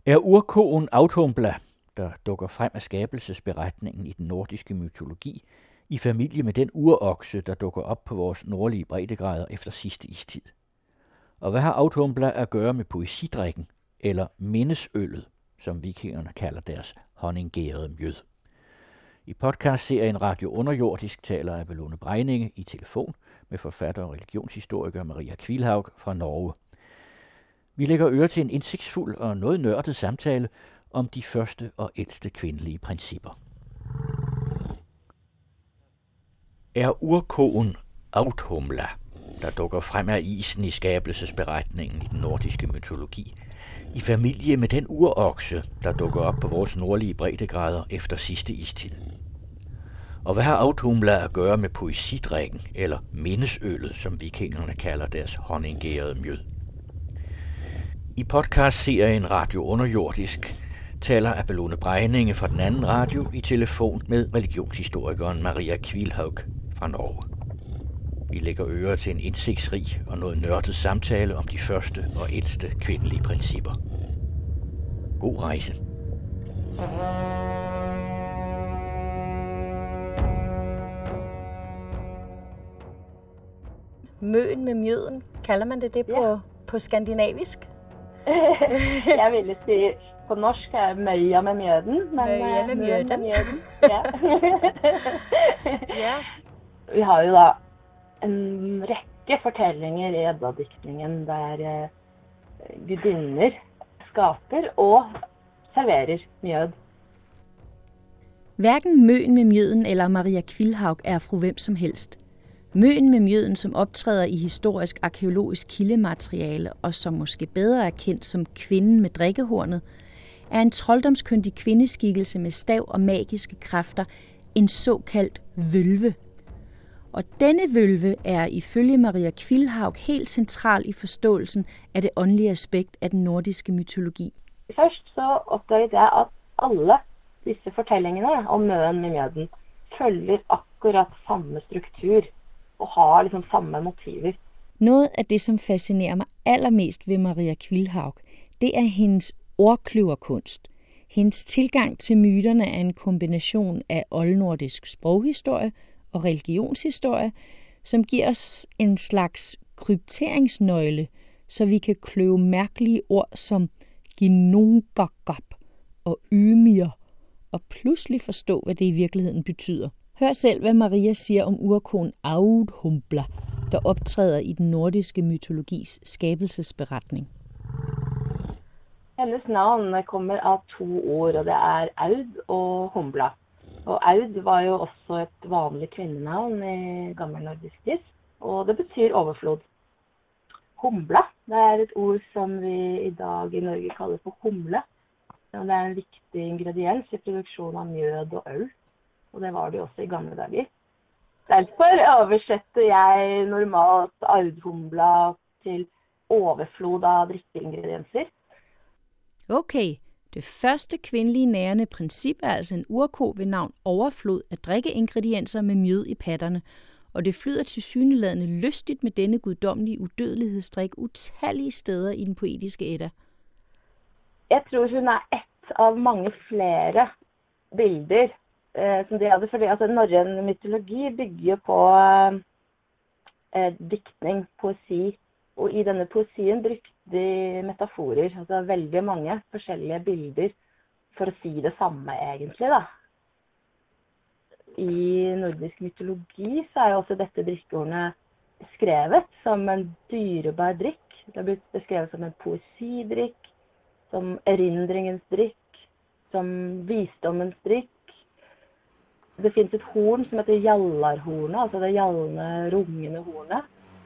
Er urkoen Audhumbla, der dukker frem af skabelsesberetningen i den nordiske mytologi, i familie med den urokse, der dukker op på vores nordlige breddegrader efter sidste istid. Og hvad har Audhumbla at gøre med poesidrikken, eller minnesøllet, som vikingerne kalder deres honninggærede mjød? I podcastserien Radio Underjordisk taler Abelone Breininge i telefon med forfatter og religionshistoriker Maria Kvilhaug fra Norge. Vi lægger øre til en indsigtsfuld og noget nørdet samtale om de første og ældste kvindelige principper. Er urkoen Audhumbla, der dukker frem af isen i skabelsesberetningen i den nordiske mytologi, i familie med den urokse, der dukker op på vores nordlige breddegrader efter sidste istid? Og hvad har Audhumbla at gøre med poesidrikken, eller minnesøllet, som vikingerne kalder deres honninggærede mjød? I podcastserien Radio Underjordisk taler Abelone Breininge fra den anden radio i telefon med religionshistorikeren Maria Kvilhaug fra Norge. Vi lægger øre til en indsigtsrig og noget nørdet samtale om de første og ældste kvindelige principper. God rejse. Møen med mjøden, kalder man det på skandinavisk? Jeg ville si på norsk er møya med mjøden, men møya med mjøden. Ja. Ja. Vi har jo da en rekke fortellinger i Edda-diktningen der gudinner skaper og serverer mjød. Hverken Møen med mjøden eller Maria Kvilhaug er fru hvem som helst. Møen med mjøden, som optræder i historisk arkæologisk kildemateriale og som måske bedre er kendt som kvinden med drikkehornet, er en trolddomskyndig kvindeskikkelse med stav og magiske kræfter, en såkaldt vølve. Og denne vølve er ifølge Maria Kvilhaug helt central i forståelsen af det åndelige aspekt af den nordiske mytologi. Først så opdaget jeg, at alle disse fortellingene om Møen med mjøden følger akkurat samme struktur og har liksom samme motiver. Noget af det, som fascinerer mig allermest ved Maria Kvilhaug, det er hendes ordkløverkunst. Hendes tilgang til myterne er en kombination af oldnordisk sproghistorie og religionshistorie, som giver os en slags krypteringsnøgle, så vi kan kløve mærkelige ord som ginungagap og ymir, og pludselig forstå, hvad det i virkeligheden betyder. Hør selv, hvad Maria siger om urkoen Audhumbla, der optræder i den nordiske mytologis skabelsesberetning. Hendes navn kommer af 2 ord, og det er Aud og Humbla. Og Aud var jo også et vanligt kvindenavn i gammelnordisk tid, og det betyder overflod. Humbla, det er et ord som vi i dag i Norge kalder for humle. Og det er en vigtig ingrediens i produksjon av mjød og øl. Og det var det også i gamle dager. Derfor oversetter jeg normalt Audhumbla til overflod af drikkeingredienser. Okay, det første kvindelige nærende princip er altså en urko ved navn overflod af drikkeingredienser med mjød i patterne, og det flyder tilsyneladende lystigt med denne guddommelige udødelighedsdrik utallige steder i den poetiske Edda. Jeg tror, hun er et av mange flere bilder som de hadde, fordi altså, norrøn mytologi bygger på diktning, poesi, og i denne poesien brukte de metaforer, altså veldig mange forskjellige bilder for å si det samme egentlig da. I nordisk mytologi så er jo også dette drikkeordene skrevet som en dyrebar drikk. Det har blitt beskrevet som en poesidrikk, som erindringens drikk, som visdommens drikk. Det finnes et horn som heter jallarhornet, altså det gjallende, rungende hornet.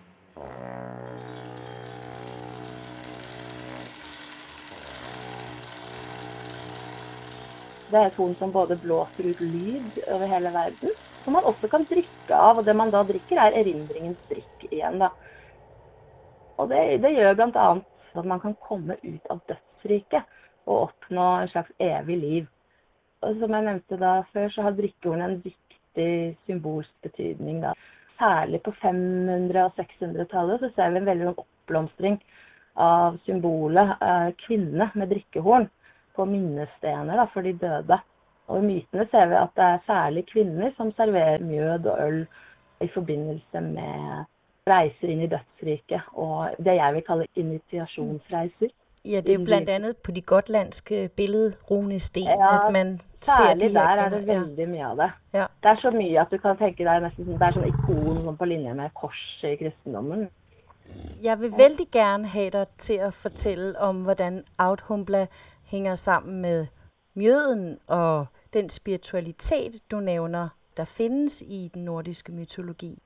Det er et horn som både blåser ut lyd over hele verden, som man også kan drikke av, og det man da drikker er erindringens drikk igjen da. Og det gjør blant annet at man kan komme ut av dødsriket og oppnå en slags evig liv. Og som jeg nevnte da før, så har drikkehornet en viktig symbolsk betydning da. Særlig på 500- og 600-tallet så ser vi en veldig oppblomstring av symbolet kvinne med drikkehorn. på minnestener da, for de døde. Og i mytene ser vi at det er særlig kvinner som serverer mjød og øl i forbindelse med reiser inn i dødsriket, og det jeg vil kalle initiasjonsreiser. Ja, det er jo blandt andet på de gotlandske billedrunesten, ja, at man ser de her der kvinder. Er det veldig mye av det. Ja. Det er så mye at du kan tenke deg nesten det er sånn ikon på linje med kors i kristendommen. Jeg vil vældig gerne have dig til at fortælle om, hvordan Audhumbla hænger sammen med mjøden og den spiritualitet, du nævner, der findes i den nordiske mytologi.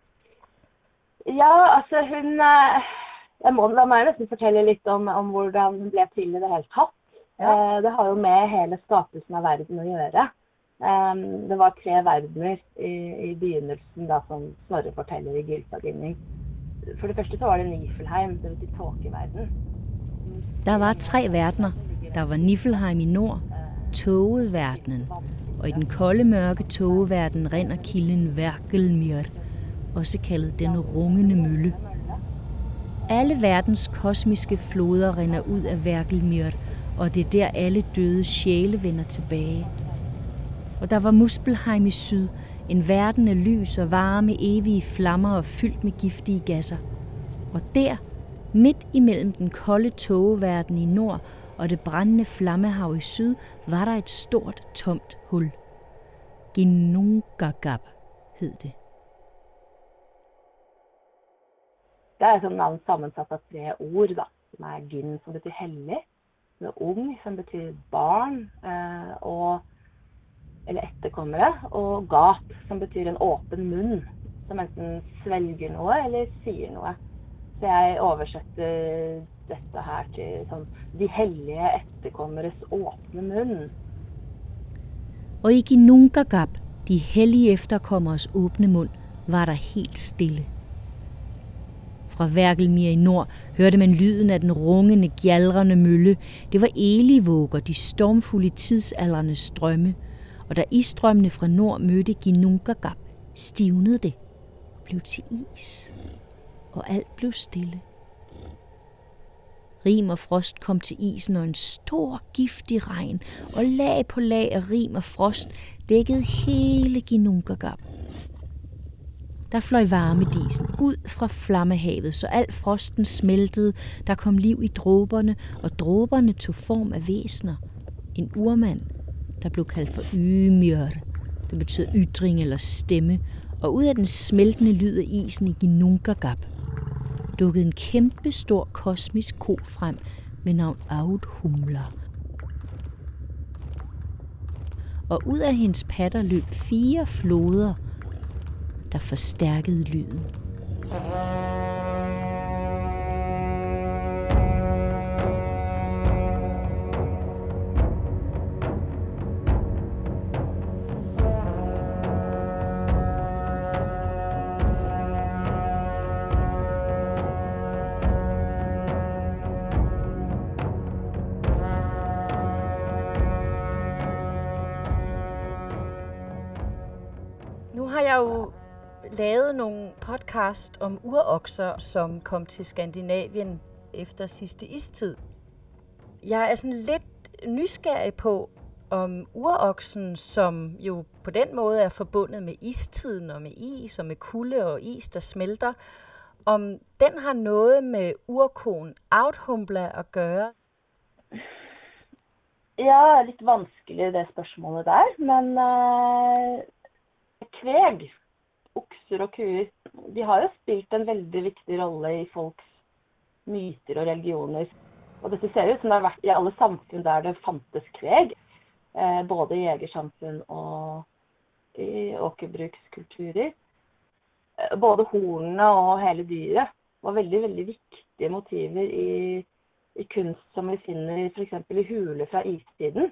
Ja, altså hun... Jeg må nesten fortelle litt om hvordan hun ble til i det hele tatt. Ja. Det har jo med hele skapelsen av verden å gjøre. Det var 3 verdener i begynnelsen da, som Snorre forteller i Gylfaginning. For det første så var det Niflheim, det vil si tåkeverden. Der var 3 verdener. Der var Niflheim i nord, tågeverdenen, og i den kolde, mørke tågeverden rinder kilden Vergelmir, også kaldet den rungende mølle. Alle verdens kosmiske floder rinder ud af Vergelmir, og det er der alle døde sjæle vender tilbage. Og der var Muspelheim i syd, en verden af lys og varme, evige flammer og fyldt med giftige gasser. Og der, midt imellem den kolde tågeverden i nord og det brændende flammehav i syd, var der et stort, tomt hul. Ginnungagap hed det. Det er et navn sammensatt av 3 ord, da, som er gin, som betyr hellig, med ung, som betyr barn, eller etterkommere, og gap, som betyr en åpen munn, som enten svelger noe eller sier noe. Så jeg oversetter dette her til sånn, de hellige etterkommeres åpne munn. Og i Ginnungagap, de hellige efterkommeres åbne mund, var der helt stille. Fra Vergelmir i nord hørte man lyden af den rungende, gjaldrende mølle. Det var Elivåger, de stormfulde tidsaldrende strømme. Og da isstrømmene fra nord mødte Ginnungagap, stivnede det og blev til is. Og alt blev stille. Rim og frost kom til isen, og en stor, giftig regn, og lag på lag af rim og frost dækkede hele Ginnungagap. Der fløj varmedisen ud fra flammehavet, så al frosten smeltede, der kom liv i dråberne, og dråberne tog form af væsner. En urmand, der blev kaldt for Ymir, det betyder ytring eller stemme, og ud af den smeltende lyd af isen i Ginnungagap dukkede en kæmpe stor kosmisk ko frem med navn Audhumbla. Og ud af hendes patter løb 4 floder, der forstærkede lyden. Nu har jeg jo lavet nogle podcast om urokser, som kom til Skandinavien efter sidste istid. Jeg er sådan lidt nysgerrig på, om uroksen, som jo på den måde er forbundet med istiden og med is og med kulde og is, der smelter, om den har noget med urkoen Audhumbla at gøre. Ja, litt vanskelig det spørsmålet der, men kveg, okser og kuer, de har jo spilt en veldig viktig rolle i folks myter og religioner. Og dette ser ut som det har vært i alle samfunn der det fantes kveg, både i jegersamfunn og i åkerbrukskulturer. Både hornene og hele dyret var veldig, veldig viktige motiver i kunst som vi finner for eksempel i huler fra istiden.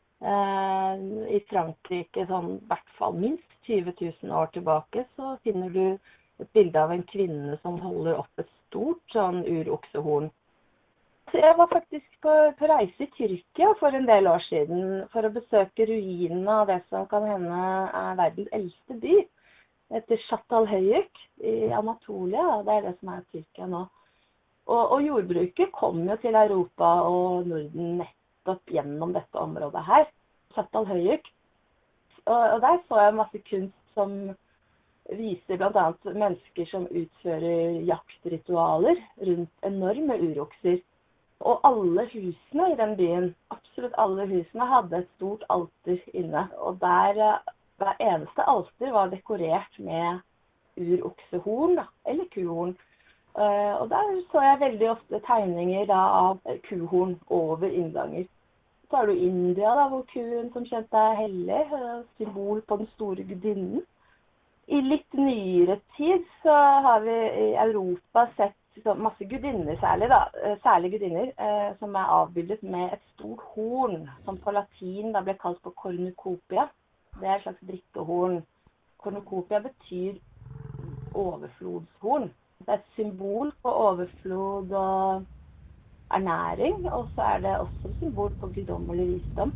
I Frankrike, sånn, i hvert fall minst 20 000 år tilbake, så finner du et bilde av en kvinne som holder opp et stort sånn uroksehorn. Så jeg var faktisk på reise i Tyrkia for en del år siden for å besøke ruinene av det som kan hende er verdens eldste by. Det heter Çatalhöyük i Anatolia, det er det som er Tyrkia nå. Og jordbruket kom jo til Europa og Norden nettopp nettopp gjennom dette området her. Çatalhöyük. Og der så jeg masse kunst som viser blant annet mennesker som utfører jaktritualer rundt enorme urokser. Og alle husene i den byen, absolutt alle husene, hadde et stort alter inne. Og der hver eneste alter var dekorert med uroksehorn da, eller kuhorn. Og der så jeg veldig ofte tegninger da, av kuhorn over innganger. Så har du India, da, hvor kuen som kjent er hellig, symbol på den store gudinnen. I litt nyere tid så har vi i Europa sett masse gudinner særlig gudinner, som er avbildet med et stort horn, som på latin da ble kalt på cornucopia. Det er et slags drikkehorn. Cornucopia betyr overflodshorn. Det er et symbol på overflod og ernæring, og så er det også et symbol på guddommelig visdom.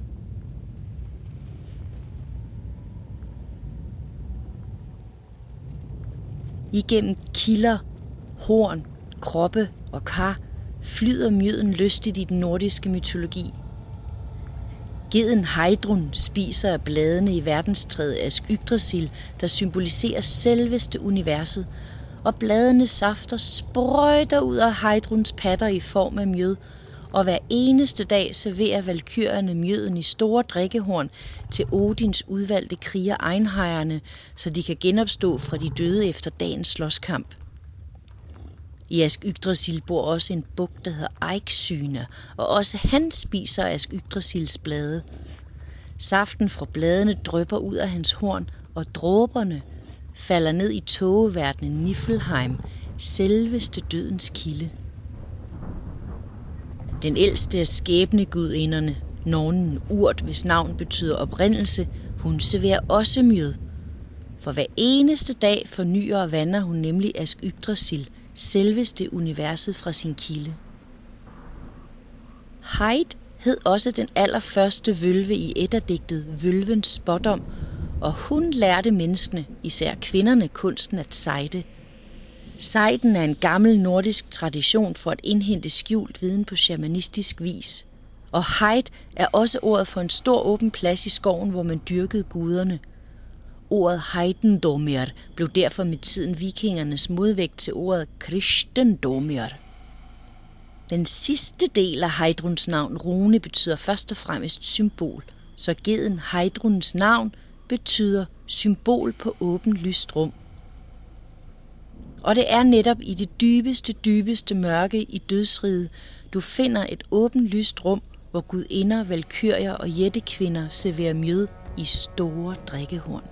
Igennem kilder, horn, kroppe og kar flyder mjøden lystigt i den nordiske mytologi. Geden Heidrun spiser af bladene i verdenstræet Ask Yggdrasil, der symboliserer selveste universet, og bladenes safter sprøjter ud af Heidruns patter i form af mjød, og hver eneste dag serverer valkyrierne mjøden i store drikkehorn til Odins udvalgte kriger Einhejerne, så de kan genopstå fra de døde efter dagens slåskamp. I Ask Yggdrasil bor også en buk, der hedder Eiksyne, og også han spiser Ask Yggdrasils blade. Saften fra bladene drypper ud af hans horn, og dråberne falder ned i tågeverdenen Niflheim, selveste dødens kilde. Den ældste af skæbnegudinderne, nornen Urt, hvis navn betyder oprindelse, hun serverer også mjød. For hver eneste dag fornyer og vander hun nemlig Ask Yggdrasil, selveste universet fra sin kilde. Heid hed også den allerførste vølve i eddadigtet Vølvens spådom, og hun lærte menneskene, især kvinderne, kunsten at sejde. Sejden er en gammel nordisk tradition for at indhente skjult viden på shamanistisk vis. Og Heid er også ordet for en stor åben plads i skoven, hvor man dyrkede guderne. Ordet Heidendomir blev derfor med tiden vikingernes modvægt til ordet Kristendomir. Den sidste del af Heidruns navn, Rune, betyder først og fremmest symbol, så geden Heidruns navn betyder symbol på åbent lyst rum. Og det er netop i det dybeste mørke i dødsriget, du finder et åbent lyst rum, hvor gudinder, valkyrier og jættekvinder serverer mjød i store drikkehorn.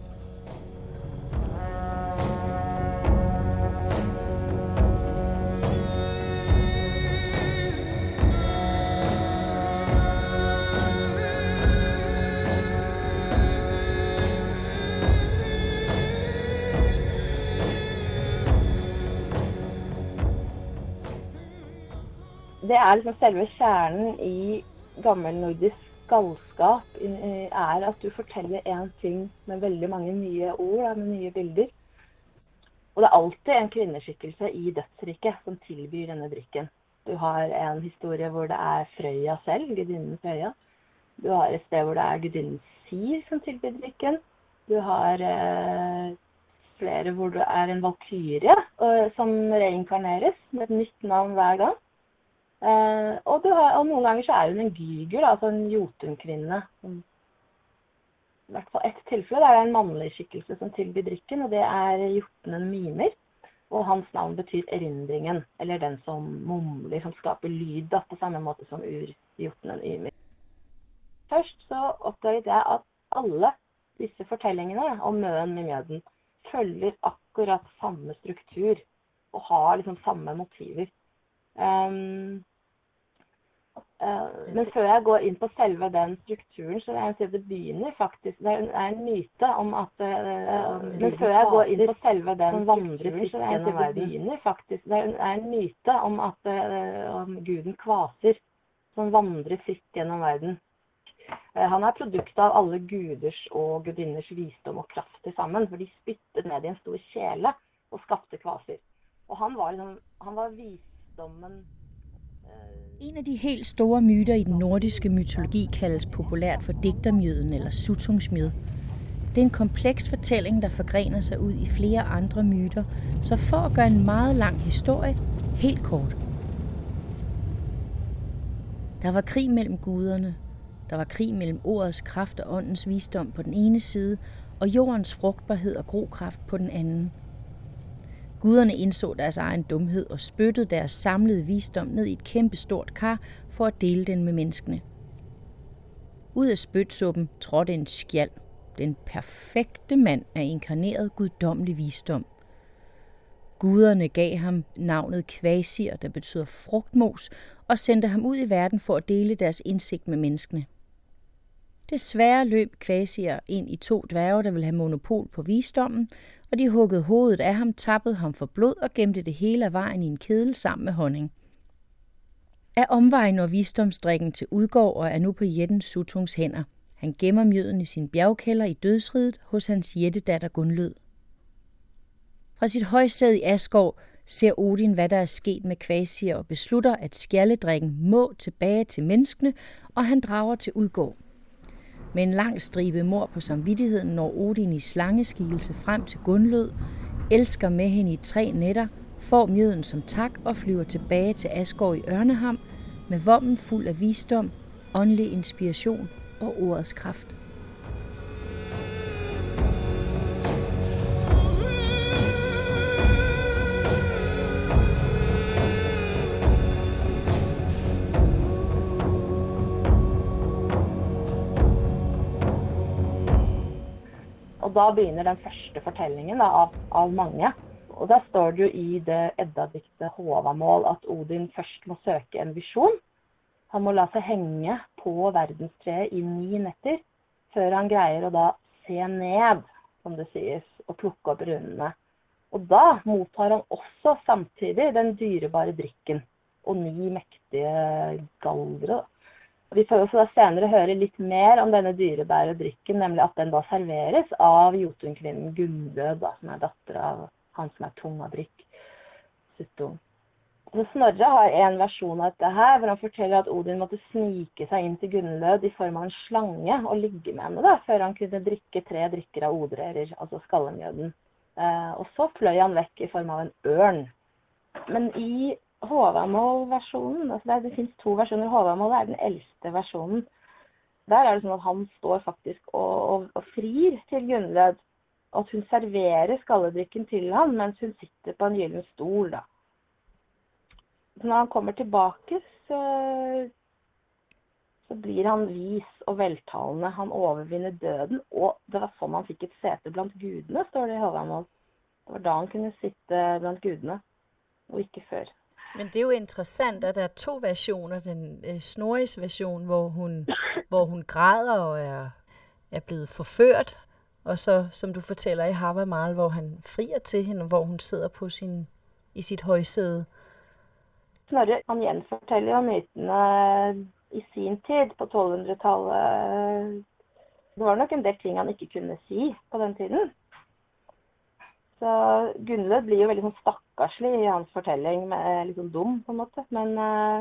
Det er liksom selve kjernen i gammelnordisk galskap, er at du forteller en ting med veldig mange nye ord, med nye bilder. Og det er alltid en kvinneskikkelse i dødsriket som tilbyr denne drikken. Du har en historie hvor det er Frøya selv, gudinnen Frøya. Du har et sted hvor det er gudinnen Sir som tilbyr drikken. Du har flere hvor det er en valkyrie som reinkarneres med et nytt navn hver gang. Og noen ganger så er hun en gyger, altså en jotunkvinne. I hvert fall ett tilfelle der det er en mannlig skikkelse som tilbyr drikken, og det er jotnen Mimer. Og hans navn betyr erindringen, eller den som mumler, som skaper lyd, da, på samme måte som urjotnen Ymir. Først så oppdaget jeg at alle disse fortellingene om møen med mjøden følger akkurat samme struktur, og har liksom samme motiver. Men før jeg går inn på selve den strukturen, så vil jeg si at det begynner faktisk, det er en myte om at men før jeg går inn på selve den vandrer fritt gjennom verden, det begynner faktisk, det er en myte om at om guden Kvasir som vandrer fritt gjennom verden. Han er produkt av alle guders og gudinners visdom og kraft til sammen, for de spyttet ned i en stor kjele og skapte Kvasir. Og han var visdommen En af de helt store myter i den nordiske mytologi kaldes populært for digtermyten eller sutungsmyt. Det er en kompleks fortælling, der forgrener sig ud i flere andre myter, så for at gøre en meget lang historie helt kort. Der var krig mellem guderne. Der var krig mellem ordets kraft og åndens visdom på den ene side, og jordens frugtbarhed og grokraft på den anden. Guderne indså deres egen dumhed og spyttede deres samlede visdom ned i et kæmpestort kar for at dele den med menneskene. Ud af spytsuppen trådte en skjald, den perfekte mand af inkarneret guddommelig visdom. Guderne gav ham navnet Kvasir, der betyder frugtmos, og sendte ham ud i verden for at dele deres indsigt med menneskene. Desværre løb Kvasir ind i 2 dværge, der ville have monopol på visdommen, og de huggede hovedet af ham, tappede ham for blod og gemte det hele af vejen i en kedel sammen med honning. Af omvej når visdomsdrikken til Udgård og er nu på jætten Sutungs hænder. Han gemmer mjøden i sin bjergkælder i dødsriget hos hans jættedatter Gunlød. Fra sit højsæde i Asgård ser Odin, hvad der er sket med Kvasir og beslutter, at skjaldedrikken må tilbage til menneskene, og han drager til Udgård. Med en lang stribe mord på samvittigheden når Odin i slangeskikkelse frem til Gunlød, elsker med hende i 3 nætter, får mjøden som tak og flyver tilbage til Asgård i Ørneham med vommen fuld af visdom, åndelig inspiration og ordets kraft. Og da begynner den første fortellingen av mange. Og der står det jo i det Edda-diktet Håvamål at Odin først må søke en visjon. Han må la seg henge på verdenstreet i 9 netter, før han greier å da se ned, som det sies, og plukke opp runene. Og da mottar han også samtidig den dyrebare drikken, og 9 mektige galdre. Og vi får også da senere høre litt mer om denne dyrebare drikken, nemlig at den da serveres av Jotunkvinnen Gunnlød, som er datter av han som er Tungadrikk, Suttung. Så Snorre har en versjon av dette her, hvor han forteller at Odin måtte snike seg inn til Gunnlød i form av en slange og ligge med henne da, før han kunne drikke 3 drikker av odrerer, altså skallemjøden. Og så fløy han vekk i form av en ørn. Men i Håvamål-versjonen, altså det finnes 2 versjoner. Håvamål er den eldste versjonen. Der er det sånn at han står faktisk og frir til Gunnlød, og at hun serverer skalledrikken til han, mens hun sitter på en gyllen stol da. Så når han kommer tilbake, så blir han vis og veltalende. Han overvinner døden, og det var sånn han fikk et sete blant gudene, står det i Håvamål. Det var da han kunne sitte blant gudene, og ikke før. Men det er jo interessant, at der er 2 versioner. Den Snorris version, hvor hun græder og er blevet forført, og så, som du fortæller i Havamal, hvor han frier til hende, hvor hun sidder på i sit højsæde. Snorre, han gjenforteller jo mytene i sin tid, på 1200-tallet. Det var nok en del ting han ikke kunne si på den tiden. Så Gunnlød blir jo veldig sånn stakkarslig i hans fortelling, litt sånn dum på en måte. Men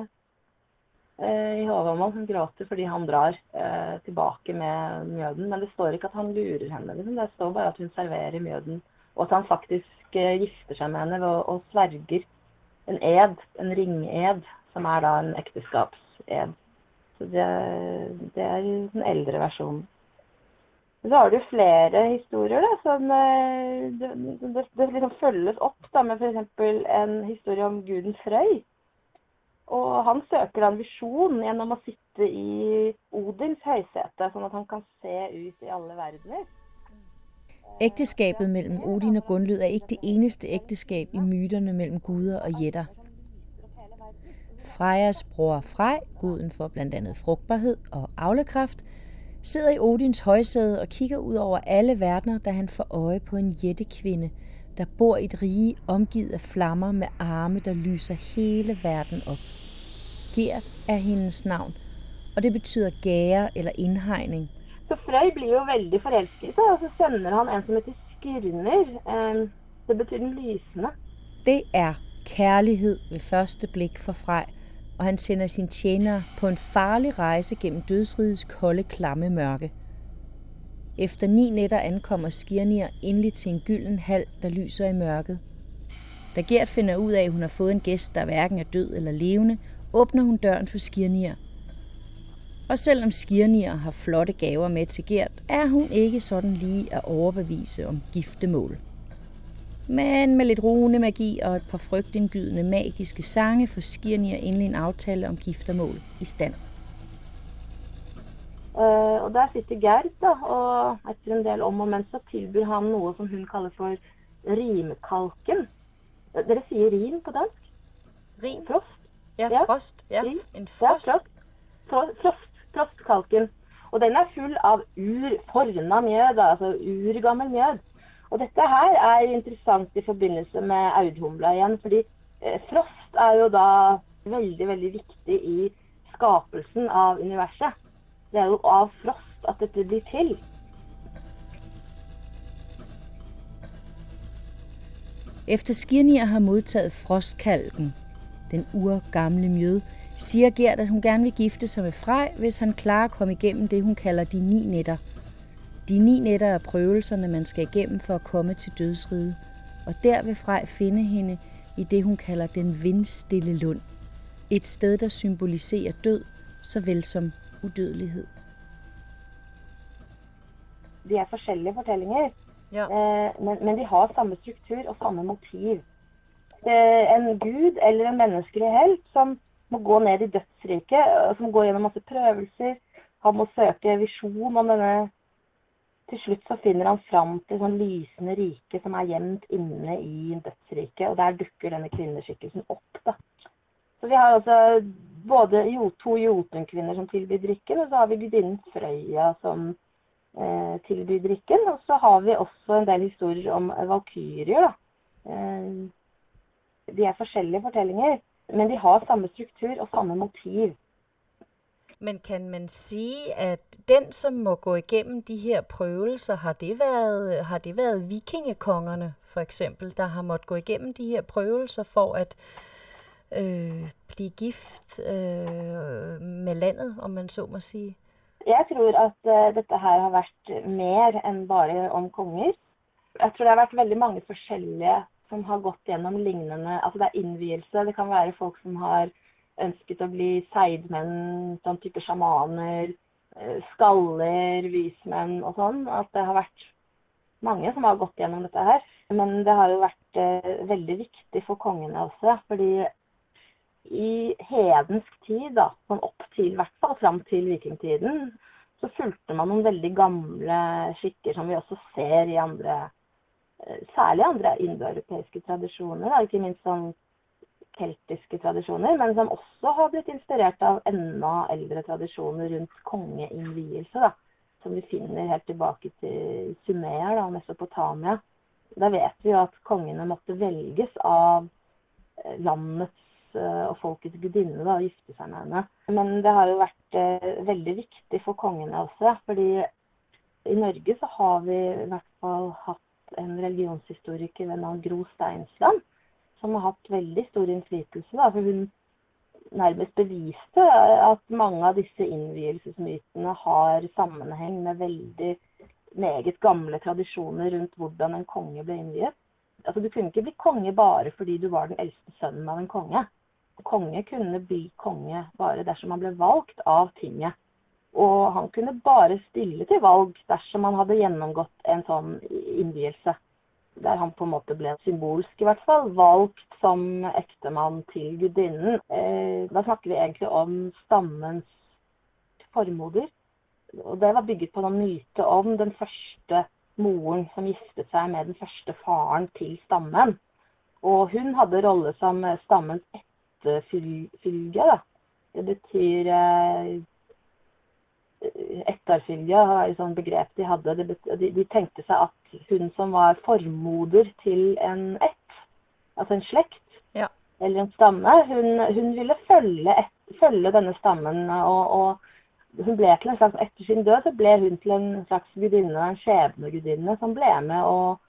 i Håvamål han gråter fordi han drar tilbake med mjøden. Men det står ikke at han lurer henne. Liksom. Det står bare at hun serverer mjøden, og at han faktisk gifter seg med henne og sverger en ed, en ringed, som er da en ekteskapsed. Så det er den eldre versjonen. Så har du flere historier da, som det liksom følges opp da, med for eksempel en historie om guden Frøy. Og han søker da en visjon gjennom å sitte i Odins høysete, sånn at han kan se ut i alle verdener. Ægteskabet mellem Odin og Gunlød er ikke det eneste ægteskab i myterne mellem guder og jætter. Frejas bror Frej, guden for blandt andet frugtbarhed og avlekraft, sidder i Odins højsæde og kigger ud over alle verdener, da han får øje på en jættekvinde, der bor i et rige omgivet af flammer med arme, der lyser hele verden op. Ger er hendes navn, og det betyder gære eller indhegning. Så Frøy blir jo veldig forelsket, og så sender han en som heter Skirner. Det betyder den lysende. Det er kærlighed ved første blik for Frej, og han sender sine tjenere på en farlig rejse gennem dødsrigets kolde, klamme mørke. Efter 9 nætter ankommer Skirnir endelig til en gylden hal, der lyser i mørket. Da Gerd finder ud af, at hun har fået en gæst, der hverken er død eller levende, åbner hun døren for Skirnir. Og selvom Skirnir har flotte gaver med til Gerd, er hun ikke sådan lige at overbevise om giftemål. Men med lidt runemagi og et par frygtindgydende magiske sange får Skirnir endelig en aftale om giftermål i stand. Og der sitter Gerd, da, og etter en del om og men så tilbyr han noe som hun kaller for rimkalken. Dere sier rim på dansk? Rim? Frost? Ja, frost. Ja, en frost. Ja, frostkalken. Og den er full av forna mjød, altså urgammel mjød. Og dette her er interessant i forbindelse med audhumla igjen, fordi frost er jo da veldig, veldig viktig i skapelsen av universet. Det er jo av frost at dette blir til. Efter Skirnir har modtaget frostkalken, den urgamle mjød, siger Gerd, at hun gerne vil gifte sig med Frej, hvis han klarer at komme igennem det, hun kalder de 9 nætter. De 9 nætter er prøvelserne, man skal igennem for at komme til dødsriget, og der vil Frej finde hende i det, hun kalder den vindstille lund. Et sted, der symboliserer død, såvel som udødelighed. De er forskjellige fortellinger, Ja. men de har samme struktur og samme motiv. En gud eller en menneskelig helt som må gå ned i dødsriket, som går gjennom masse prøvelser. Han må søke visjon om denne. Til slutt så finner han fram til sånn lysende rike som er gjemt inne i dødsriket, og der dukker denne kvinneskikkelsen opp, da. Så vi har altså både 2 jotunkvinner som tilbyr drikken, og så har vi gudinnen Frøya som tilbyr drikken, og så har vi også en del historier om valkyrier, da. De er forskjellige fortellinger, men de har samme struktur og samme motiv. Men kan man sige, at den, som må gå igennem de her prøvelser, har det været vikingekongerne, for eksempel, der har måttet gå igennem de her prøvelser for at blive gift med landet, om man så må sige? Jeg tror at dette her har vært mer enn bare om konger. Jeg tror det har vært veldig mange forskjellige som har gått gjennom lignende, altså det er innvielse, det kan være folk som har ønsket å bli seidmenn, sånn type sjamaner, skaller, vismenn og sånn, at det har vært mange som har gått gjennom dette her. Men det har jo vært veldig viktig for kongene også, fordi i hedensk tid, da, sånn opp til, i hvert fall fram til vikingtiden, så fulgte man noen veldig gamle skikker som vi også ser i andre, særlig andre indoeuropeiske tradisjoner, da, ikke minst sånn keltiske tradisjoner, men som også har blitt inspirert av enda eldre tradisjoner rundt kongeinnvielse, da, som vi finner helt tilbake til Sumer, da, Mesopotamia. Da vet vi jo at kongene måtte velges av landets og folkets gudinne, da, og gifte seg med henne. Men det har jo vært veldig viktig for kongene også, fordi i Norge så har vi i hvert fall hatt en religionshistoriker ved navn Gro Steinsland, som har hatt veldig stor innflytelse, da, for hun nærmest beviste at mange av disse innvielsesmytene har sammenheng med veldig meget gamle tradisjoner rundt hvordan en konge ble innviet. Altså, du kunne ikke bli konge bare fordi du var den eldste sønnen av en konge. Konge kunne bli konge bare dersom han ble valgt av tinget. Og han kunne bare stille til valg dersom han hadde gjennomgått en sånn innvielse. Der han på en måte ble symbolsk i hvert fall, valgt som ektemann til gudinnen. Da snakker vi egentlig om stammens formoder. Og det var bygget på noen myte om den første moren som giftet seg med den første faren til stammen. Og hun hadde rolle som stammens etterfylge, da. Det betyr etterfylge, er et sånt begrep de hadde. De tenkte seg at hun som var formoder til en altså en slekt, Ja. eller en stamme, hun ville følge denne stammen, og hun ble til en slags, etter sin død, så ble hun til en slags gudinne, en skjebnegudinne, som ble med og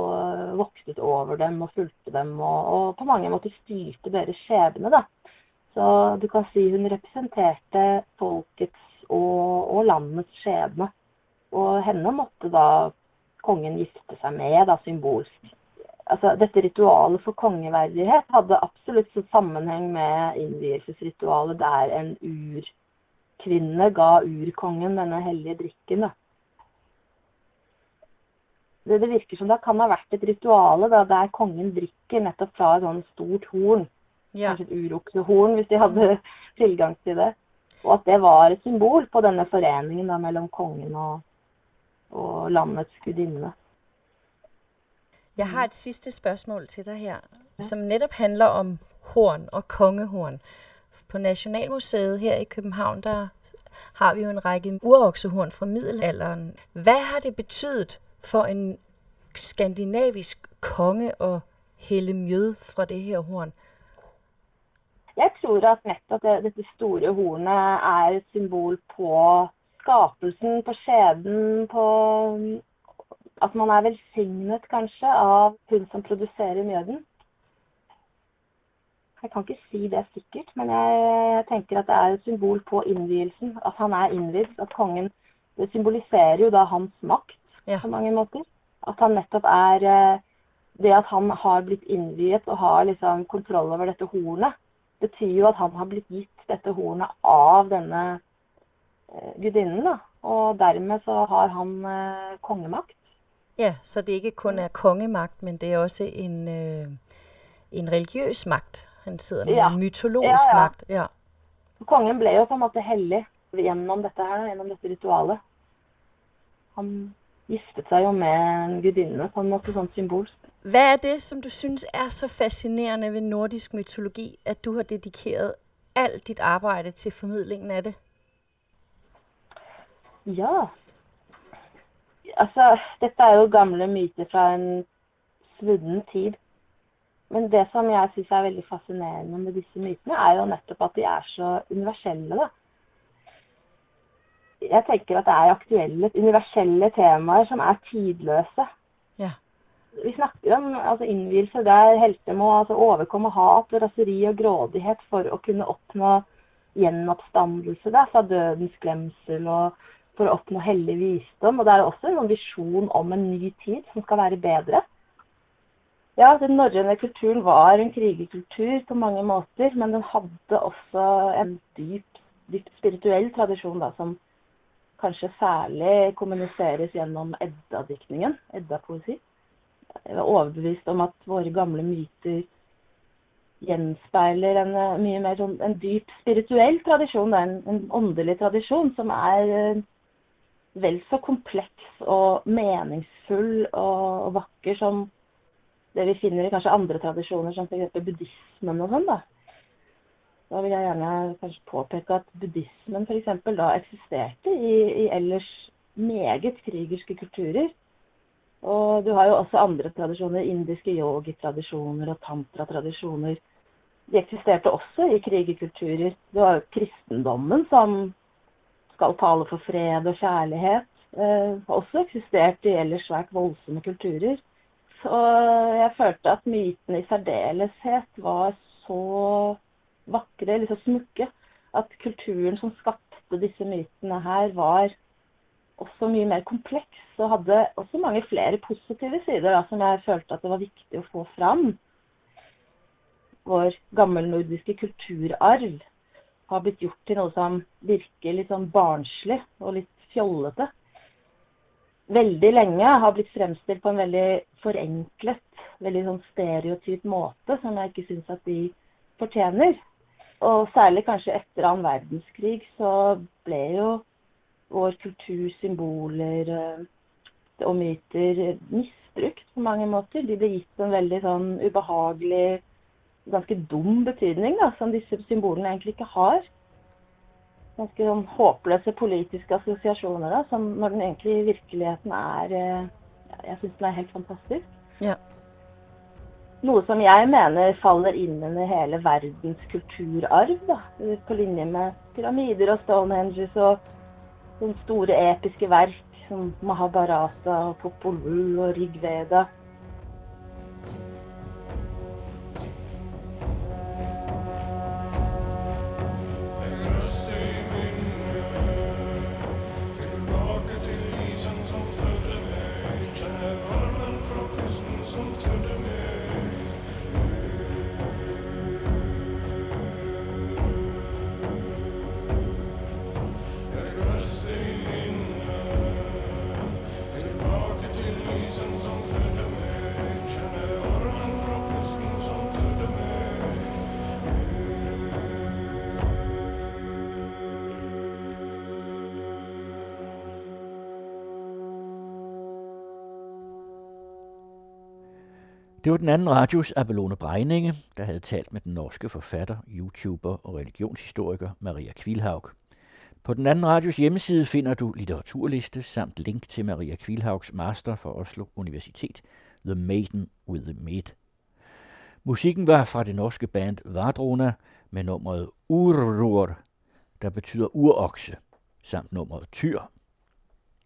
voktet over dem og fulgte dem, og på mange måter styrte deres skjebne, da. Så du kan si hun representerte folkets og landets skjebne. Og henne måtte da kongen gifte seg med, da, symbolsk. Altså, dette ritualet for kongeverdighet hadde absolutt så sammenheng med innvielsesritualet der en urkvinne ga urkongen denne hellige drikken, da. Det virker som det kan ha vært et rituale da, der kongen drikker nettopp fra et sånt stort horn. Ja. Kanskje et uroksehorn, hvis de hadde tilgang til det. Og at det var et symbol på denne foreningen da, mellom kongen og landets gudinne. Jeg har et sidste spørgsmål til dig her, som netop handler om horn og kongehorn. På Nationalmuseet her i København, der har vi jo en række uroksehorn fra middelalderen. Hvad har det betydet for en skandinavisk konge at hælde mjød fra det her horn? Jeg tror at nettopp dette store hornet er et symbol på skapelsen, på skjeden, på at man er velsignet kanskje av hun som produserer mjøden. Jeg kan ikke si det sikkert, men jeg tenker at det er et symbol på innvielsen, at han er innvidd, at kongen, det symboliserer jo da hans makt på mange måter. At han nettopp er, det at han har blitt innviet og har liksom kontroll over dette hornet, betyr jo at han har blitt gitt dette hornet av denne gudinnen, da. Og dermed så har han kongemakt. Ja, så det ikke kun er kongemagt, men det er også en religiøs magt. Han sidder med en mytologisk magt. Ja. Kongen ble jo på en måte hellig gjennom dette her, gjennom dette ritualet. Han giftet seg jo med en gudinne på en måte sånn symbolsk. Hvad er det, som du synes er så fascinerende ved nordisk mytologi, at du har dedikeret alt dit arbejde til formidlingen af det? Ja, altså dette er jo gamle myter fra en svunnen tid. Men det som jeg synes er veldig fascinerende med disse mytene, er jo nettopp at de er så universelle, da. Jeg tenker at det er aktuelle, universelle temaer som er tidløse. Ja. Vi snakker om altså, innvielse der helter må altså, overkomme hat, raseri og grådighet for å kunne oppnå gjenoppstandelse der, fra dødens glemsel og for å oppnå hellig visdom. Og det er også en visjon om en ny tid som skal være bedre. Ja, den norrøne kulturen var en krigerkultur på mange måter, men den hadde også en dypt spirituell tradisjon da, som kanskje særlig kommuniseres gjennom Edda-diktningen, Edda-poesi. Jeg er overbevist om at våre gamle myter gjenspeiler en mye mer sånn, en dyp spirituell tradisjon, en åndelig tradisjon som er vel så kompleks og meningsfull og vakker som det vi finner i kanskje andre tradisjoner, som for eksempel buddhismen og sånn da. Da vil jeg gjerne kanskje påpeke at buddhismen for eksempel da eksisterte i ellers meget krigerske kulturer. Og du har jo også andre tradisjoner, indiske yogi-tradisjoner og tantra-tradisjoner. De eksisterte også i krigerkulturer. Du har jo kristendommen som skal tale for fred og kjærlighet. Har også eksistert i ellers svært voldsomme kulturer. Så jeg følte at mytene i særdeleshet var så vakre, eller så smukke, at kulturen som skapte disse mytene her var også mye mer kompleks, og hadde også mange flere positive sider da, som jeg følte at det var viktig å få fram. Vår gammelnordiske kulturarv har blitt gjort til noe som virker litt sånn barnslig og litt fjollete. Veldig lenge har blitt fremstilt på en veldig forenklet, veldig sånn stereotyp måte, som jeg ikke synes at de fortjener. Og særlig kanskje etter annen verdenskrig så ble jo vår kultursymboler og myter misbrukt på mange måter. De ble gitt en veldig sånn ubehagelig, ganske dum betydning da, som disse symbolene egentlig ikke har. Ganske sånn håpløse politiske assosiasjoner da, som når den egentlig i virkeligheten er, jeg synes den er helt fantastisk. Ja. Noe som jeg mener faller inn under hele verdens kulturarv da, på linje med pyramider og Stonehenges og sånne store episke verk som Mahabharata og Popol Vuh og Rigveda. Det var den anden radios Abelone Breininge, der havde talt med den norske forfatter, YouTuber og religionshistoriker Maria Kvilhaug. På den anden radios hjemmeside finder du litteraturliste samt link til Maria Kvilhaugs master fra Oslo Universitet, The Maiden with the Med. Musikken var fra det norske band Vardrona med nummeret Urror, der betyder urokse, samt nummeret Tyr.